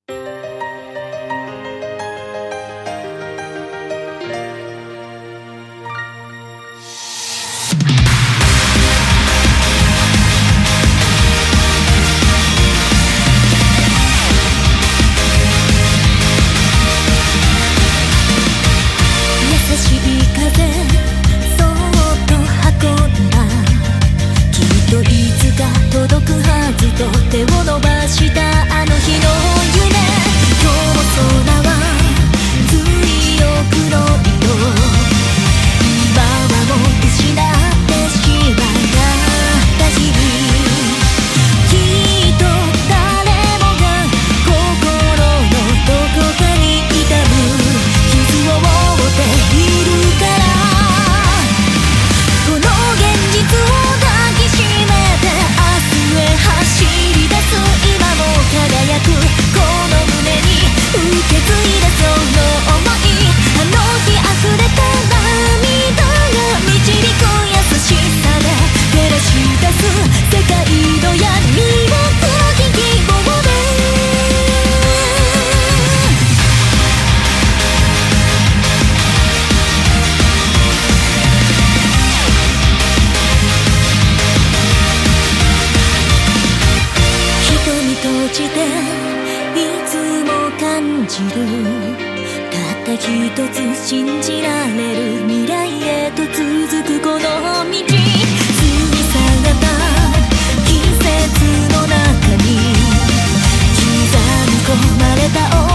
手を伸ばしたあの日の夢、今日も空は強く黒色、今はもう失ってしまった日々、きっと誰もが心のどこかに痛む傷を負っているから、この現実を抱きしめて明日へ走り出す、今も輝くこの胸に受け継いだその想い、あの日溢れた涙が導く優しさで照らし出す世界の闇を黒き希望で、瞳閉じていつも感じる、たった一つ信じられる未来へと続くこの道、過ぎ去った季節の中に刻み込まれた